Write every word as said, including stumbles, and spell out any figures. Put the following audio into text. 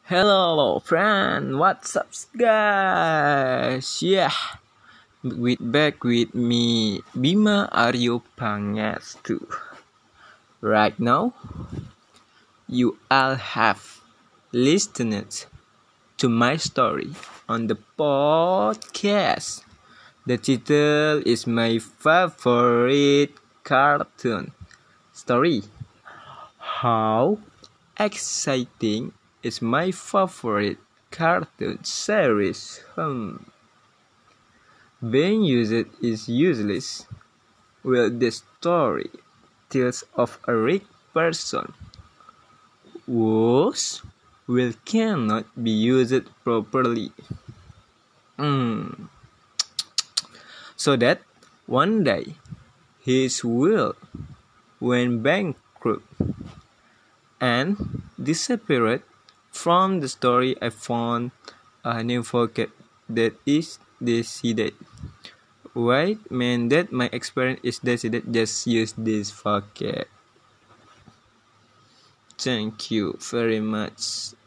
Hello, friend. What's up, guys? Yeah, with back with me, Bima Aryo Pangestu. Right now, you all have listened to my story on the podcast. The title is my favorite cartoon story. How exciting is my favorite cartoon series. Hmm. Being used is useless. Well, the story tells of a rich person whose will cannot be used properly. Hmm. So that one day his will went bankrupt and disappeared. From the story, I found a new vocab that is decided. Why mean that my experience is decided? Just use this vocab. Thank you very much.